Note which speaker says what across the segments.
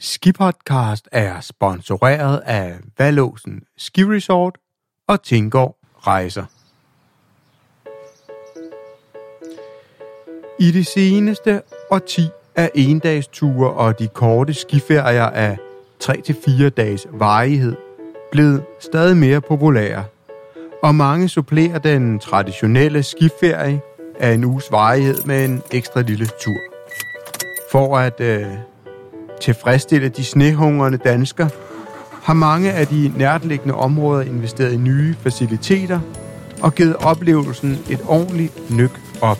Speaker 1: Skipodcast er sponsoreret af Vallåsen Ski Resort og Tinggaard Rejser. I det seneste årti er endagsture og de korte skiferier af 3-4 dages varighed blevet stadig mere populære, og mange supplerer den traditionelle skiferie af en uges varighed med en ekstra lille tur. For at tilfredsstille de snehungrende danskere, har mange af de nærtliggende områder investeret i nye faciliteter og givet oplevelsen et ordentligt nyk op.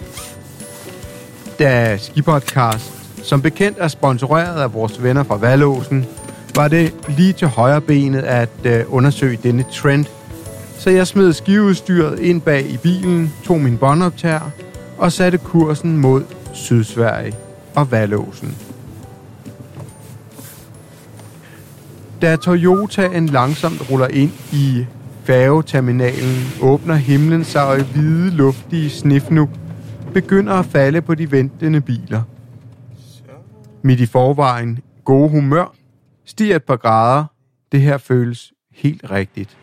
Speaker 1: Da Skipodcast som bekendt er sponsoreret af vores venner fra Vallåsen, var det lige til højre benet at undersøge denne trend. Så jeg smed skiudstyret ind bag i bilen, tog min båndoptager og satte kursen mod Sydsverige og Vallåsen. Da Toyotaen langsomt ruller ind i færgeterminalen, åbner himlen sig, og hvide, luftige snefnug begynder at falde på de ventende biler. Midt i forvejen gode humør stiger et par grader. Det her føles helt rigtigt.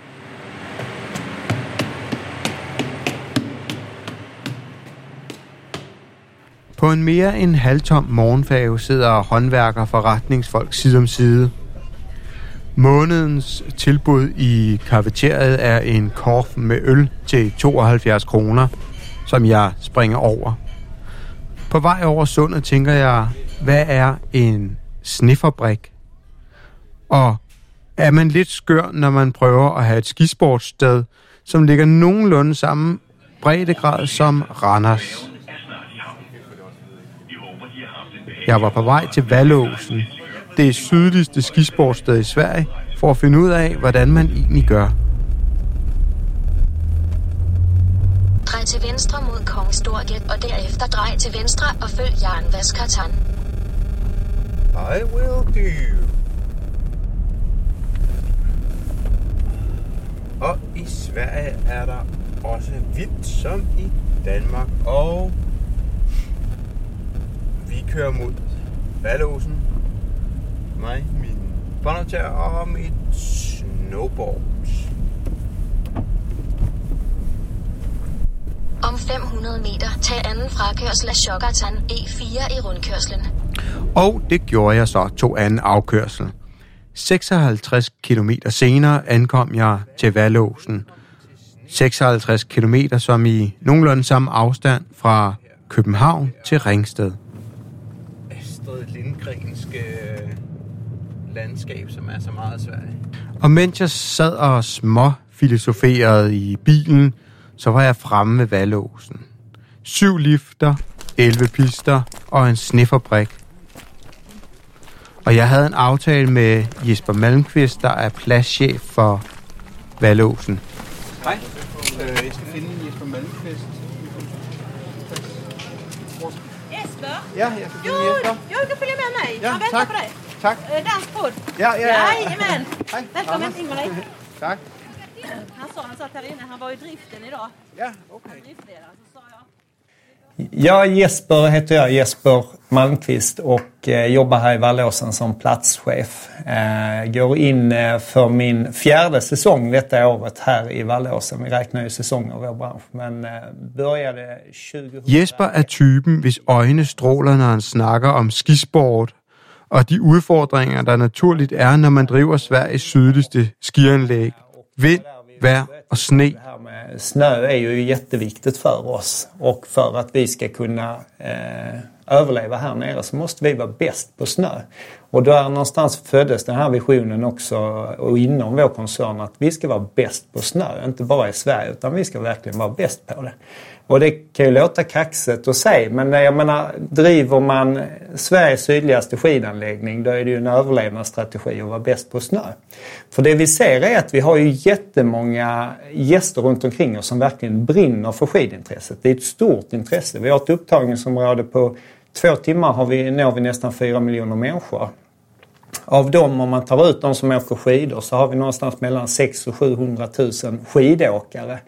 Speaker 1: På en mere end halvtom morgenfærge sidder håndværker og forretningsfolk side om side. Månedens tilbud i kafeteriet er en korf med øl til 72 kroner, som jeg springer over. På vej over sundet tænker jeg, hvad er en snefabrik? Og er man lidt skør, når man prøver at have et skisportssted, som ligger nogenlunde samme breddegrad som Randers? Jeg var på vej til Vallåsen, det sydligste skisportssted i Sverige, for at finde ud af, hvordan man egentlig gør.
Speaker 2: Drej til venstre mod Kongstorget, og derefter drej til venstre og følg Jan Vaskatan.
Speaker 1: I will do. Og i Sverige er der også hvidt som i Danmark, og vi kører mod Vallåsen. Mig, min båndoptager og mit snowboard.
Speaker 2: Om 500 meter, tag anden frakørsel af Sjokkatan E4 i rundkørslen.
Speaker 1: Og det gjorde jeg så, tog anden afkørsel. 56 kilometer senere ankom jeg til Vallåsen. 56 kilometer som i nogenlunde samme afstand fra København til Ringsted. Astrid Lindgrenske landskab, som er så meget Sverige. Og mens jeg sad og småfilosoferede i bilen, så var jeg fremme ved Vallåsen. 7 lifter, 11 pister og en snefabrik. Og jeg havde en aftale med Jesper Malmqvist, der er pladschef for Vallåsen. Hej, jeg skal finde Jesper Malmqvist.
Speaker 3: Jesper?
Speaker 1: Ja, jeg skal finde Jesper.
Speaker 3: Jo, du følger med mig.
Speaker 1: Ja,
Speaker 3: Jag väntar
Speaker 1: tak.
Speaker 3: på dig.
Speaker 1: Tak.
Speaker 3: Danspod.
Speaker 1: Ja.
Speaker 3: Jajamän.
Speaker 1: Hej.
Speaker 3: Välkommen Ingmarie.
Speaker 1: Tak.
Speaker 3: Han satt här inne, han var i driften idag.
Speaker 1: Ja, okay.
Speaker 3: Driftledare, så sa jag.
Speaker 4: Ja, Jesper heter jag, Jesper Malmqvist, och jobbar här i Vallåsen som platschef. Går in för min 4:e säsong detta året här i Vallåsen. Vi räknar ju säsonger i vår bransch, men började 2000...
Speaker 1: Jesper er typen, hvis øjne stråler, når han snakker om skisport, og de udfordringer, der naturligt er, når man driver Sveriges sydligste skianlæg. Vind, vejr och sne.
Speaker 4: Det här med snö är ju jätteviktigt för oss, och för att vi ska kunna överleva här nere så måste vi vara bäst på snö. Och där någonstans föddes den här visionen också, och inom vår koncern, att vi ska vara bäst på snö, inte bara i Sverige, utan vi ska verkligen vara bäst på det. Och det kan ju låta kaxigt att säga, men jag menar, driver man Sveriges sydligaste skidanläggning, då är det ju en överlevnadsstrategi att vara bäst på snö. För det vi ser är att vi har ju jättemånga gäster runt omkring oss som verkligen brinner för skidintresset. Det är ett stort intresse. Vi har ett upptagningsområde på 2 timmar når vi nästan 4 miljoner människor. Av dem, om man tar ut de som åker skidor, så har vi någonstans mellan 600 000 och 700 000 skidåkare.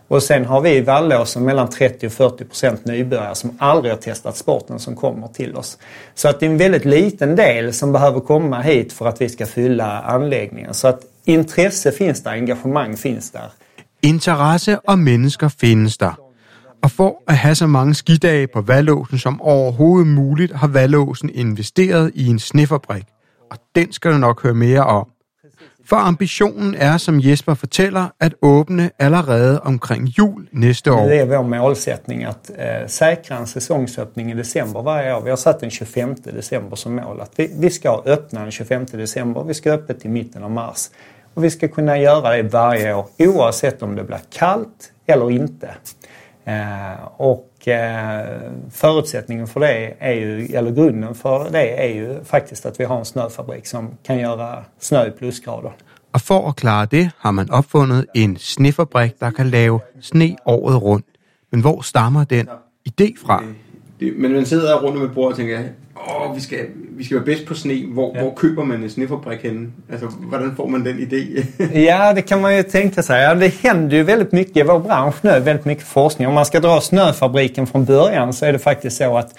Speaker 4: Och sen har vi i Vallåsen mellan 30-40% nybörjare som aldrig har testat sporten som kommer till oss. Så att det är en väldigt liten del som behöver komma hit för att vi ska fylla anläggningen. Så att intresse finns der, engagemang finns der.
Speaker 1: Interesse og mennesker findes der. Og for at have så mange skidage på Vallåsen som overhovedet muligt, har Vallåsen investeret i en snefabrik. Og den skal du nok høre mere om. For ambitionen er, som Jesper fortæller, at åbne allerede omkring jul næste år.
Speaker 4: Det är vår målsättning att säkra en säsongsöppning i december varje år. Vi har satt den 25 december som mål. Att vi ska öppna den 25 december. Vi ska öppna till mitten av mars. Och vi ska kunna göra det varje år oavsett om det blir kallt eller inte. Förutsättningen för det är ju, eller grunden för det är ju faktiskt att vi har en snöfabrik som kan göra snö i plusgrader.
Speaker 1: Og for at klare det, har man opfundet en snefabrik, der kan lave sne året rundt. Men hvor stammer den idé fra?
Speaker 5: Men man sidder rundt om et bord og tænker, vi skal være bedst på sne. Hvor køber man en snefabrik henne? Altså, hvordan får man den idé?
Speaker 4: Ja, det kan man ju tänka sig. Ja, det händer ju väldigt mycket i vår bransch nu, väldigt mycket forskning. Om man ska dra snöfabriken från början så är det faktiskt så att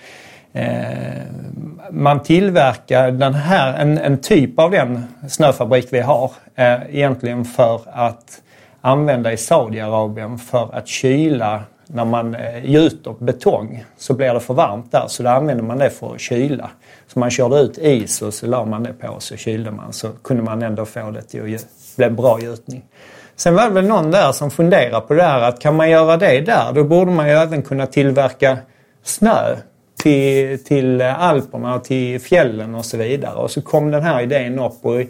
Speaker 4: man tillverkar den här, en typ av den snöfabrik vi har egentligen för att använda i Saudiarabien för att kyla. När man gjuter betong så blir det för varmt där, så då använder man det för att kyla. Så man körde ut is och så la man det på, så kylde man, så kunde man ändå få det till att bli bra gjutning. Sen var det väl någon där som funderar på det här, att kan man göra det där, då borde man ju även kunna tillverka snö till Alperna och till fjällen och så vidare. Och så kom den här idén upp, och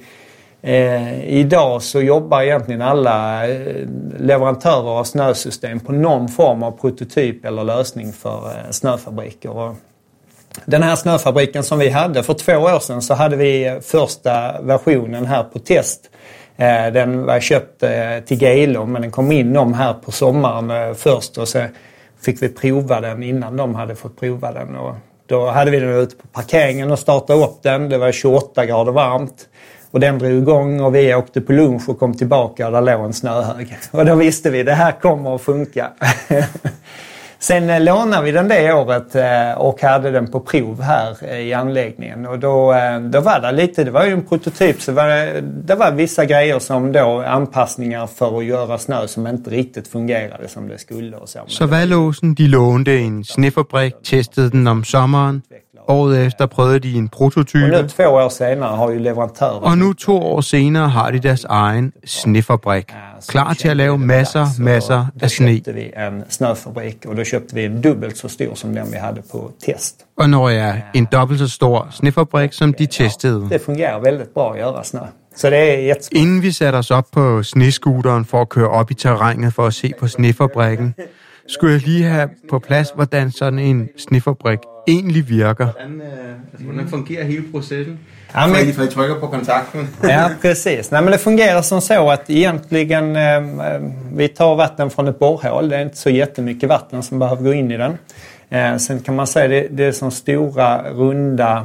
Speaker 4: idag så jobbar egentligen alla leverantörer av snösystem på någon form av prototyp eller lösning för snöfabriker. Och den här snöfabriken som vi hade för 2 år sedan, så hade vi första versionen här på test. Den var köpt till Gelo, men den kom in om här på sommaren först, och så fick vi prova den innan de hade fått prova den. Och då hade vi den ute på parkeringen och startade upp den. Det var 28 grader varmt. Och den drog igång och vi åkte på lunch och kom tillbaka och där låg en snöhög. Och då visste vi, det här kommer att funka. Sen lånade vi den det året och hade den på prov här i anläggningen. Och då var det lite, det var ju en prototyp, så det var vissa grejer som då anpassningar för att göra snö som inte riktigt fungerade som det skulle. Och
Speaker 1: så Vallåsen, de lånte en snefabrik, testede den om sommeren. Året efter prøvede de en prototype.
Speaker 4: Og nu 2 år senere har jo leverandører.
Speaker 1: Og nu 2 år senere har de deres egen snefabrik. Klar til at lave masser af sne.
Speaker 4: Då köpte vi en snöfabrik, och då köpte vi en dubbelt så stor som den vi hade på test.
Speaker 1: Og når jeg en dobbelt så stor snefabrik som de testede.
Speaker 4: Det fungerer väldigt bra att göra snö. Så det är jättespændende.
Speaker 1: Inden vi satte os op på snescooteren for at køre op i terrænet for at se på snefabrikken, skulle jeg lige have på plads, hvordan sådan en snefabrik egentlig virker.
Speaker 5: Hvordan fungerer hele processen?
Speaker 4: Ja, men,
Speaker 5: for I trykker på kontakten.
Speaker 4: Ja, precis. Nej, men det fungerar som så att egentligen vi tar vatten från ett borrhål. Det är inte så jättemycket vatten som behöver gå in i den. Sen kan man säga det är som stora runda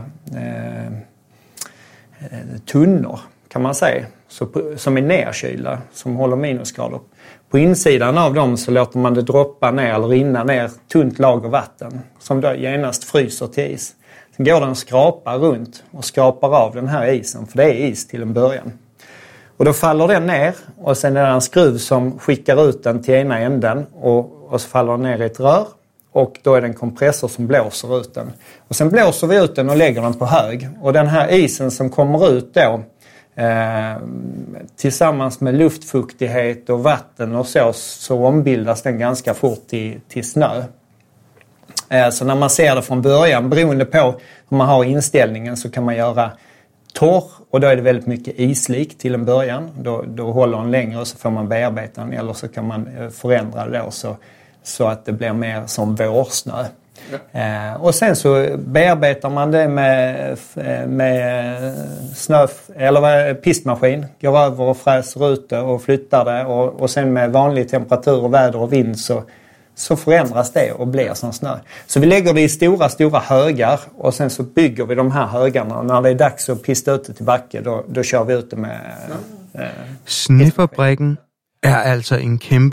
Speaker 4: tunnor kan man säga. Som är nedkylda, som håller minusgrader. På insidan av dem så låter man det droppa ner eller rinna ner tunt lager vatten som då genast fryser till is. Sen går den och skrapar runt och skrapar av den här isen, för det är is till en början. Och då faller den ner, och sen är det en skruv som skickar ut den till ena änden och så faller den ner i ett rör, och då är det en kompressor som blåser ut den. Och sen blåser vi ut den och lägger den på hög, och den här isen som kommer ut då tillsammans med luftfuktighet och vatten och så ombildas den ganska fort till snö. Så när man ser det från början, beroende på hur man har inställningen, så kan man göra torr, och då är det väldigt mycket islik till en början. Då håller den längre och så får man bearbeta den, eller så kan man förändra det då så att det blir mer som vårsnö. Och sen så bearbetar man det med snö eller pistmaskin, går över och fräser ut det och flyttar det, och sen med vanlig temperatur och väder och vind så förändras det och blir som snö. Så vi lägger det i stora högar, och sen så bygger vi de här högarna. När det är dags att pista ut det till backe, då kör vi ut det med
Speaker 1: Snefabrikken er altså en kæmpe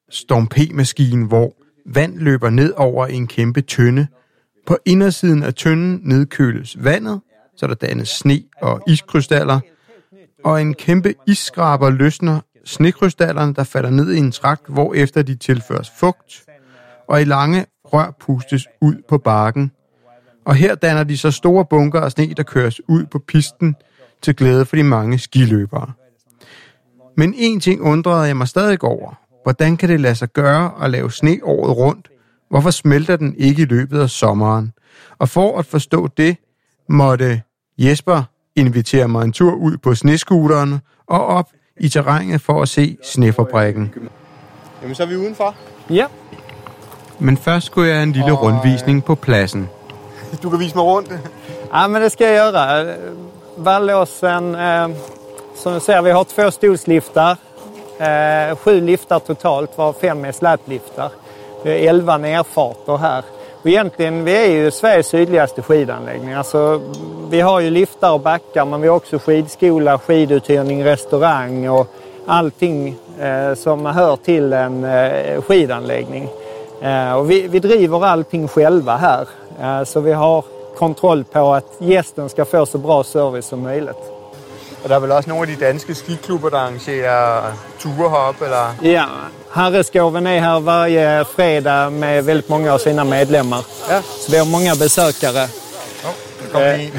Speaker 1: Storm P-maskine, hvor vand løber ned over en kæmpe tønde. På indersiden af tønden nedkøles vandet, så der dannes sne og iskrystaller, og en kæmpe isskraber løsner snekrystallerne, der falder ned i en trakt, hvorefter de tilføres fugt, og i lange rør pustes ud på bakken. Og her danner de så store bunker af sne, der køres ud på pisten til glæde for de mange skiløbere. Men en ting undrede jeg mig stadig over. Hvordan kan det lade sig gøre at lave sne året rundt? Hvorfor smelter den ikke i løbet af sommeren? Og for at forstå det, måtte Jesper invitere mig en tur ud på snescooteren og op i terrænet for at se snefabrikken.
Speaker 5: Jamen, så er vi udenfor.
Speaker 4: Ja.
Speaker 1: Men først skulle jeg en lille rundvisning på pladsen.
Speaker 5: Du kan vise mig rundt.
Speaker 4: Ja, men det ska jag göra. Vallåsen, som du ser, vi har 2 stolsliftar. 7 liftar totalt, var 5 är släpliftar. Vi har 11 nerfarter här. Och egentligen, vi är ju Sveriges sydligaste skidanläggning. Alltså, vi har ju liftar och backar, men vi har också skidskola, skiduthyrning, restaurang och allting som hör till en skidanläggning. Och vi driver allting själva här. Så vi har kontroll på att gästen ska få så bra service som möjligt.
Speaker 5: Og der er vel også nogle af de danske skiklubber, der arrangerer ture heroppe, eller?
Speaker 4: Ja, Herreskoven är här varje fredag med väldigt många av sina medlemmar.
Speaker 5: Ja.
Speaker 4: Så vi har många besökare.
Speaker 5: Nu kommer vi ind.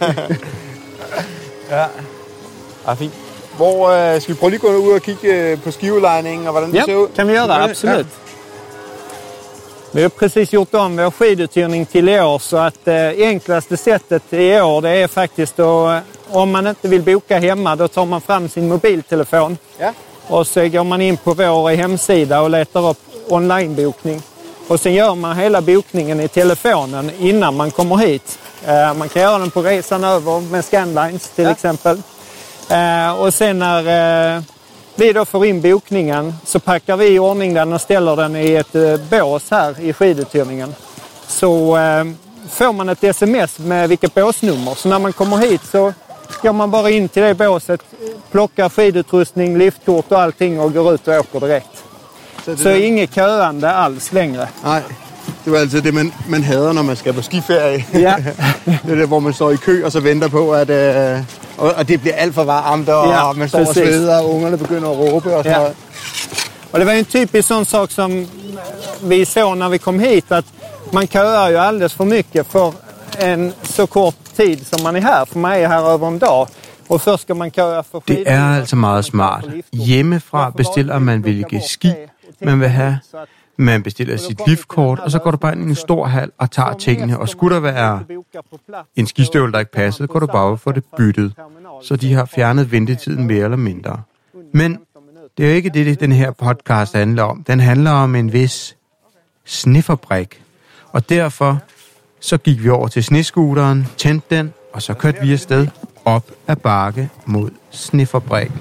Speaker 5: Ja, fint. Hvor skal vi prøve lige gå ud og kigge på skiudlejningen og hvordan det ser ud?
Speaker 4: Kan vi göra, absolut. Ja. Vi har precis gjort om vår skiduthyrning till i år, så att enklaste sättet i år det är faktiskt att om man inte vill boka hemma, då tar man fram sin mobiltelefon.
Speaker 5: Ja.
Speaker 4: Och så går man in på vår hemsida och letar upp onlinebokning. Och sen gör man hela bokningen i telefonen innan man kommer hit. Man kan göra den på resan över med Scandlines till exempel. Och sen när vi då får in bokningen så packar vi i ordning den och ställer den i ett bås här i skiduthyrningen. Så får man ett sms med vilket båsnummer. Så när man kommer hit så går man bara in till det båset, plockar skidutrustning, liftkort och allting och går ut och åker direkt. Så inget köande alls längre.
Speaker 5: Nej, det var altid det, man hader, når man skal på skiferie.
Speaker 4: Ja.
Speaker 5: Det er det, hvor man står i kø og så venter på, at og det bliver alt for varmt, og man står og sveder, og ungerne begynder at råbe og sådan noget.
Speaker 4: Och det var en typisk sån sak som vi såg när vi kom hit, att man köar ju alldeles för mycket för en så kort tid som man är här. För man är här över en dag. Och först ska man köa för skidor.
Speaker 1: Det er altså meget smart. Hjemmefra bestiller man hvilke ski man vil have. Man bestiller sit liftkort, og så går du bare ind i en stor hal og tager tingene. Og skulle der være en skistøvle, der ikke passede, går du bare for det byttet. Så de har fjernet ventetiden mere eller mindre. Men det er jo ikke det, den her podcast handler om. Den handler om en vis snefabrik. Og derfor så gik vi over til snescooteren, tændte den, og så kørte vi afsted op ad bakke mod snefabrikken.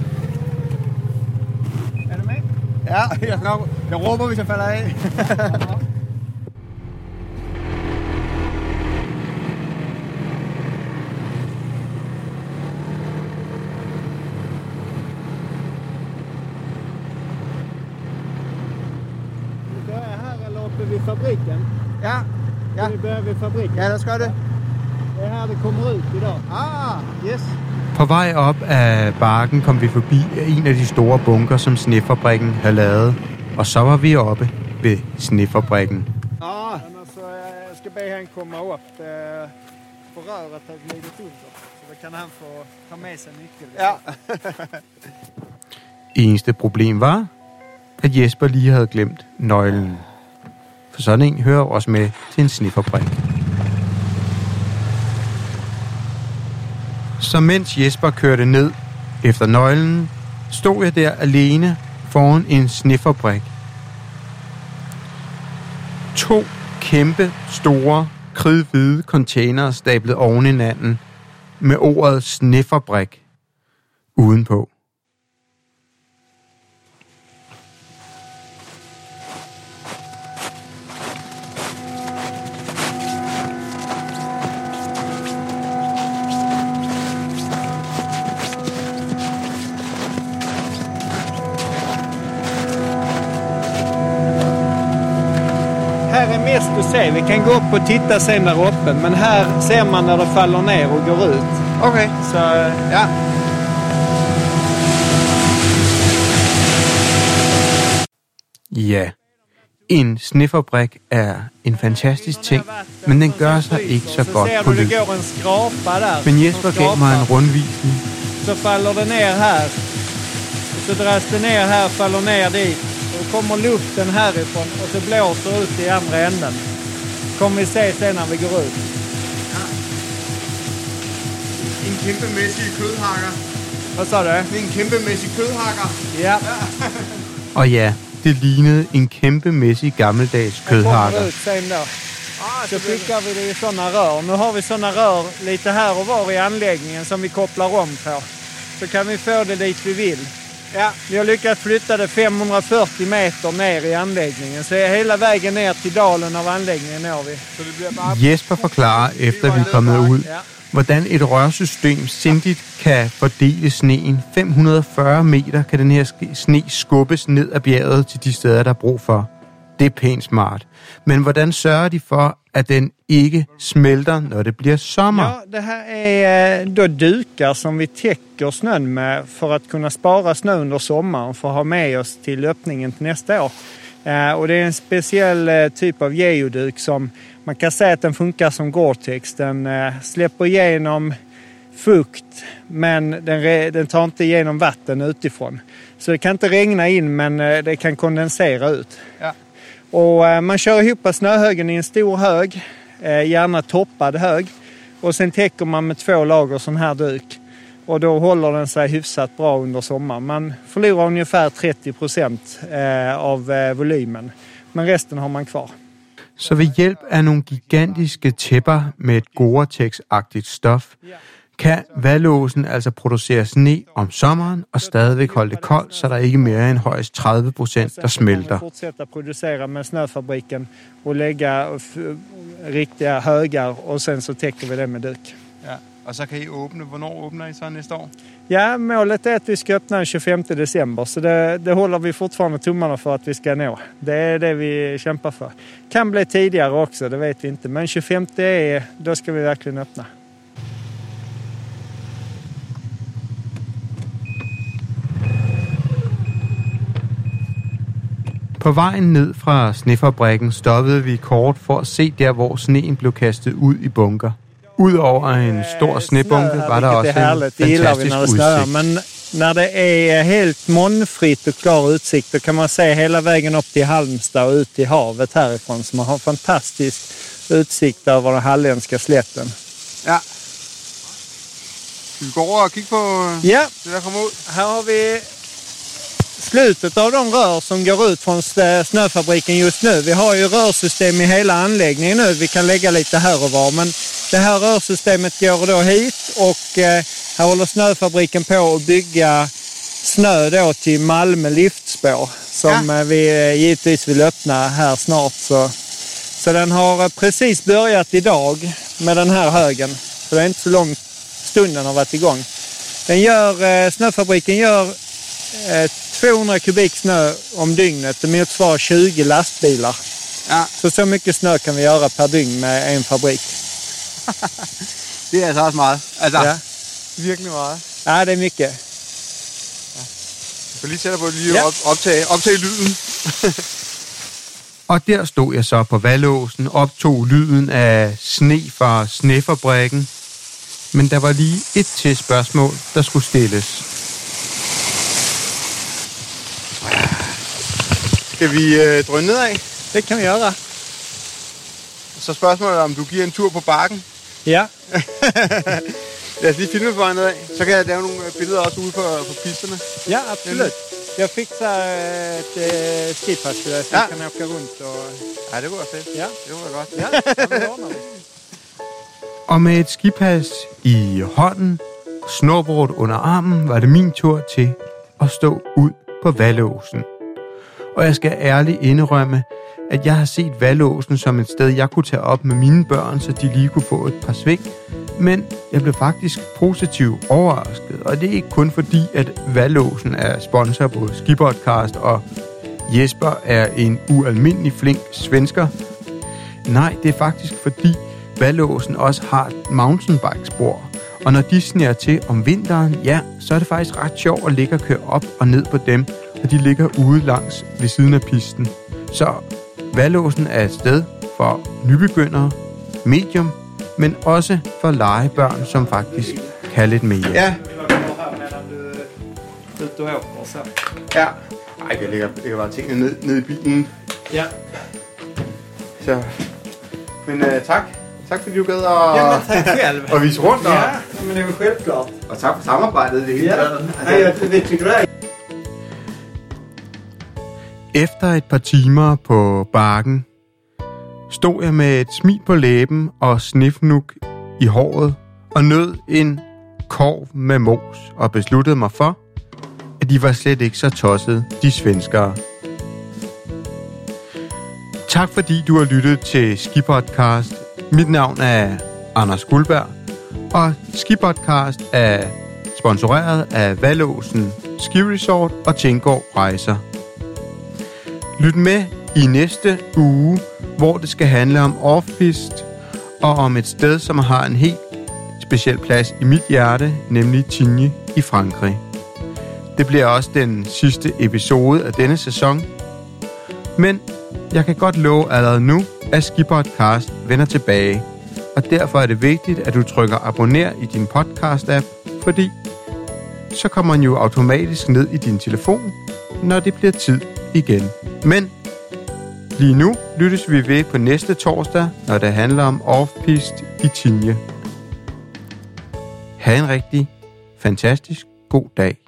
Speaker 5: Er du med? Ja, jeg råber, hvis jeg falder af.
Speaker 4: Vid fabriken.
Speaker 5: Ja.
Speaker 4: Vi börjar vid fabriken.
Speaker 5: Ja, lad os gøre det.
Speaker 4: Det är här det kommer ut idag.
Speaker 5: Yes.
Speaker 1: På vej op ad bakken kom vi forbi en af de store bunker, som snefabrikken havde lavet. Og så var vi oppe ved snefabrikken.
Speaker 4: Så jag ska be han komma upp på röret har glidit under. Så då kan han få ta med sig nyckeln.
Speaker 5: Ja.
Speaker 1: Eneste problem var, at Jesper lige havde glemt nøglen. For sådan en hører også med til en snefabrik. Så mens Jesper kørte ned efter nøglen, stod jeg der alene foran en snefabrik. 2 kæmpe store kridhvide containere stablet oven i hinanden med ordet snefabrik udenpå.
Speaker 4: mest att se. Vi kan gå upp och titta sen där uppe. Men här ser man när det faller ner och går ut.
Speaker 5: Okay.
Speaker 4: Så
Speaker 5: Ja.
Speaker 1: Ja, en snefabrik er en fantastisk ting, men den gør sig ikke så godt på lyd.
Speaker 4: det går en skrapa där.
Speaker 1: Men Jesper gav mig en rundvisning,
Speaker 4: Så faller det ner här. Så dras det ner här, faller ner dit. Och kommer luften härifrån och så blåser ut i andra änden. Kommer vi se sen när vi går ut.
Speaker 5: En kæmpemæssig kødhakker.
Speaker 4: Vad sa du?
Speaker 5: Det er en kæmpemæssig kødhakker.
Speaker 4: Ja.
Speaker 1: og ja, det lignede en kæmpemæssig gammeldags
Speaker 4: Kommer
Speaker 1: kødhakker.
Speaker 4: ut sen då. Så skickar vi det i sådana rör. Nu har vi sådana rör lite här och var i anläggningen som vi kopplar om på. Så kan vi få det dit vi vill. Ja, vi har lyckats flytta det 540 meter ner i anläggningen. Så hela vägen ner till dalen av anläggningen når vi. Så det bliver bare...
Speaker 1: Jesper forklarer, efter vi er kommet ud, hvordan et rørsystem sindigt kan fordele sneen. 540 meter kan den her sne skubbes ned ad bjerget til de steder, der er brug for. Det er pænt smart. Men hvordan sørger de for, at den ikke smelter, når det bliver sommer?
Speaker 4: Ja, det här är då dukar som vi täcker snön med för att kunna spara snö under sommaren för att ha med oss till öppningen till nästa år. Och det är en speciell typ av geoduk som man kan säga att den funkar som Gore-Tex. Den släpper igenom fukt men den tar inte igenom vatten utifrån. Så det kan inte regna in men det kan kondensera ut.
Speaker 5: Ja.
Speaker 4: Och man kör ihop snöhögen i en stor hög, gärna toppad hög. Och sen täcker man med 2 lager sån här duk. Och då håller den sig hyfsat bra under sommaren. Man förlorar ungefär 30% av volymen. Men resten har man kvar.
Speaker 1: Så ved hjælp af nogle gigantiske tæpper med et Gore-Tex-agtigt stof, kan Vallåsen altså producere sne om sommeren og stadigvæk holde det koldt, så der ikke mere end højst 30%, der smelter.
Speaker 4: Man fortsætter at producere med snöfabriken og lægge riktiga högar og sen så täcker vi det med duk.
Speaker 5: Ja. Og så kan I åbne. Hvornår åbner I så næste år?
Speaker 4: Ja, målet är att vi ska öppna den 25 december så det håller vi fortfarande tummarna för att vi ska nå. Det är det vi kämpar för. Kan bli tidigare också, det vet vi inte. Men 25 då ska vi verkligen öppna.
Speaker 1: På vejen ned fra snefabrikken stoppede vi kort for at se der, hvor sneen blev kastet ud i bunker. Udover en stor snebunke var der også en fantastisk udsigt.
Speaker 4: Men när det är helt molnfritt och klar utsikt då kan man se hela vägen upp till Halmstad och ut till havet härifrån. Så man har fantastisk utsikt över den halländska slätten.
Speaker 5: Ja. Skal vi gå over og kigge på det, der kommer ud?
Speaker 4: Här har vi slutet av de rör som går ut från snöfabriken just nu. Vi har ju rörsystem i hela anläggningen nu. Vi kan lägga lite här och var. Men det här rörsystemet går då hit och här håller snöfabriken på att bygga snö då till Malmö liftspår som vi givetvis vill öppna här snart. Så den har precis börjat idag med den här högen. Så det är inte så lång stund den har varit igång. Snöfabriken gör 200 kubik snö om dygnet. Det motsvarar 20 lastbilar.
Speaker 5: Ja.
Speaker 4: Så mycket snö kan vi göra per dygn med en fabrik.
Speaker 5: Det er altså også meget. Altså,
Speaker 4: Ja.
Speaker 5: virkelig meget.
Speaker 4: Ja, det är mycket.
Speaker 5: Jeg får lige sætte på lige optage lyden.
Speaker 1: Og der stod jeg så på Vallåsen, optog lyden af sne fra snefabrikken. Men der var lige et til spørgsmål, der skulle stilles.
Speaker 5: Skal vi drøne nedad?
Speaker 4: Det kan vi göra.
Speaker 5: Så spørgsmålet om du giver en tur på bakken.
Speaker 4: Ja.
Speaker 5: Lad os lige filme på vejen nedad. Så kan jeg lave nogle billeder også ude på pisterne.
Speaker 4: Ja, absolut. Jag fixar ett skipass så jag kan åka runt och...
Speaker 5: Ja, det var fedt.
Speaker 4: Ja.
Speaker 5: Det var godt.
Speaker 4: Ja, det ordnar vi.
Speaker 1: Og med et skipas i hånden, snorbord under armen, var det min tur til at stå ud på Vallåsen. Og jeg skal ærligt indrømme, at jeg har set Vallåsen som et sted, jeg kunne tage op med mine børn, så de lige kunne få et par sving. Men jeg blev faktisk positivt overrasket, og det er ikke kun fordi, at Vallåsen er sponsor på Skipodcast, og Jesper er en ualmindelig flink svensker. Nej, det er faktisk fordi Vallåsen også har et mountainbikespor. Og når de sneer til om vinteren, ja, så er det faktisk ret sjovt at ligge og køre op og ned på dem, og de ligger ude langs ved siden af pisten. Så Vallåsen er et sted for nybegyndere, medium, men også for legebørn, som faktisk kan lidt mere.
Speaker 5: Ja.
Speaker 4: Ut och åker så.
Speaker 5: Ja. Ej, jeg lægger bare tingene ned i bilen.
Speaker 4: Ja.
Speaker 5: Så. Men tak. Tak fordi du gad at
Speaker 4: Ja, men tack själv.
Speaker 5: og vise rundt. Og,
Speaker 4: Ja, men det är väl självklart.
Speaker 5: og tak for samarbejdet i det hele
Speaker 4: Ja.
Speaker 5: taget.
Speaker 4: Nej, jag tycker det är.
Speaker 1: Efter et par timer på bakken, stod jeg med et smil på læben og snifnuk i håret og nød en korv med mos og besluttede mig for, at de var slet ikke så tossede, de svenskere. Tak fordi du har lyttet til Skipodcast. Mit navn er Anders Guldberg, og Skipodcast er sponsoreret af Vallåsen Ski Resort og Tinggaard Rejser. Lyt med i næste uge, hvor det skal handle om off-pist og om et sted, som har en helt speciel plads i mit hjerte, nemlig Tignes i Frankrig. Det bliver også den sidste episode af denne sæson. Men jeg kan godt love allerede nu, at Skipodcast vender tilbage. Og derfor er det vigtigt, at du trykker abonner i din podcast-app, fordi så kommer den jo automatisk ned i din telefon, når det bliver tid igen. Men lige nu lyttes vi ved på næste torsdag, når det handler om off-pist i Tignes. Ha' en rigtig fantastisk god dag.